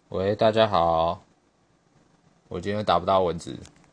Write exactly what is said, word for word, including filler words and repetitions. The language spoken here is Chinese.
喂，大家好，我今天打不到蚊子，